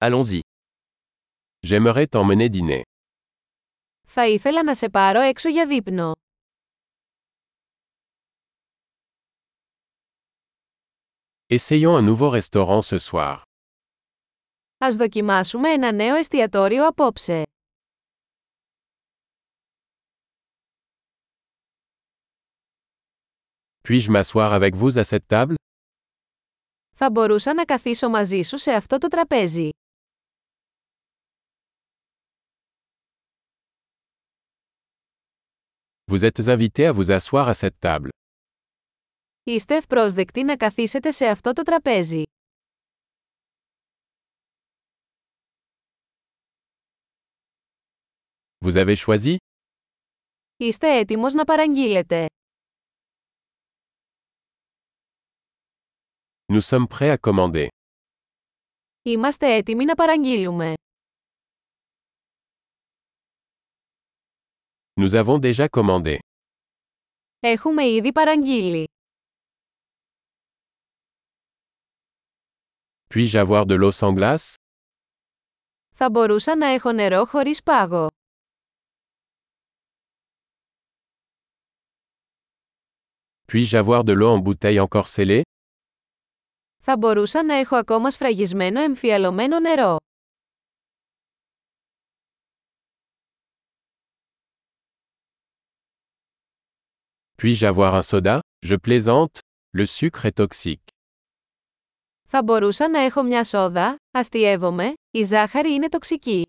Allons-y. J'aimerais t'emmener dîner. Θα ήθελα να σε πάρω έξω για δείπνο. Essayons un nouveau restaurant ce soir. Ας δοκιμάσουμε ένα νέο εστιατόριο απόψε. Puis-je m'asseoir avec vous à cette table? Θα μπορούσα να καθίσω μαζί σου σε αυτό το τραπέζι. Vous êtes invité à vous asseoir à cette table. Είστε ευπρόσδεκτοι να καθίσετε σε αυτό το τραπέζι. Vous avez choisi? Είστε έτοιμος να παραγγείλετε. Nous sommes prêts à commander. Είμαστε έτοιμοι να παραγγείλουμε. Nous avons déjà commandé. Έχουμε ήδη παραγγείλει. Puis-je avoir de l'eau sans glace? Θα μπορούσα να έχω νερό χωρίς πάγο. Puis-je avoir de l'eau en bouteille encore scellée? Θα μπορούσα να έχω ακόμα σφραγισμένο εμφιαλωμένο νερό. Puis-je avoir un soda? Je plaisante, le sucre est toxique. Θα μπορούσα να έχω μια σόδα, αστειεύομαι, η ζάχαρη είναι τοξική.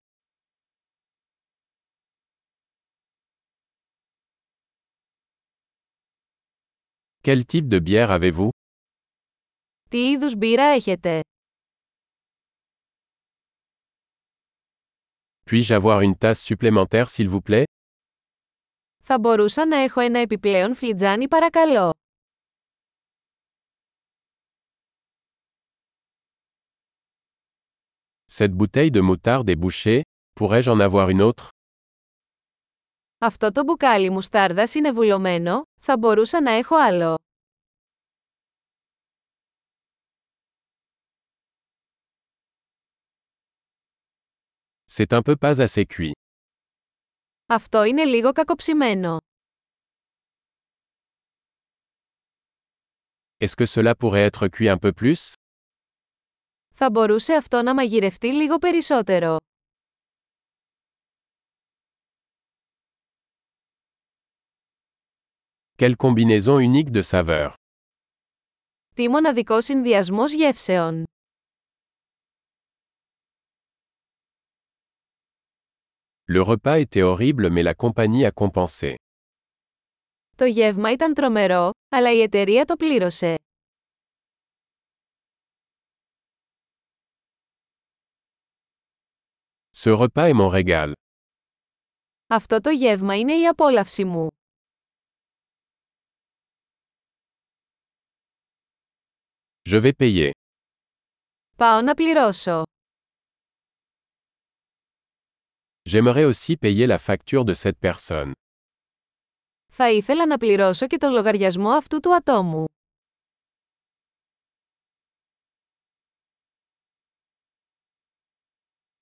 Quel type de bière avez-vous? Τι είδους μπύρα έχετε? Puis-je avoir une tasse supplémentaire s'il vous plaît? Θα μπορούσα να έχω ένα επιπλέον φλιτζάνι παρακαλώ. Cette bouteille de moutarde est bouchée, pourrais-je en avoir une autre? Αυτό το μπουκάλι μουστάρδας είναι βουλωμένο, θα μπορούσα να έχω άλλο. C'est un peu pas assez cuit. Αυτό είναι λίγο κακοψημένο. Est-ce que cela pourrait être cuit un peu plus? Θα μπορούσε αυτό να μαγειρευτεί λίγο περισσότερο. Quelle combinaison unique de saveurs. Τι μοναδικό συνδυασμός γεύσεων. Le repas était horrible mais la compagnie a compensé. Το γεύμα ήταν τρομερό, αλλά η εταιρεία το πλήρωσε. Ce repas est mon régal. Αυτό το γεύμα είναι η απόλαυση μου. Je vais payer. Πάω να πληρώσω. J'aimerais aussi payer la facture de cette personne. Θα ήθελα να πληρώσω και τον λογαριασμό αυτού του ατόμου.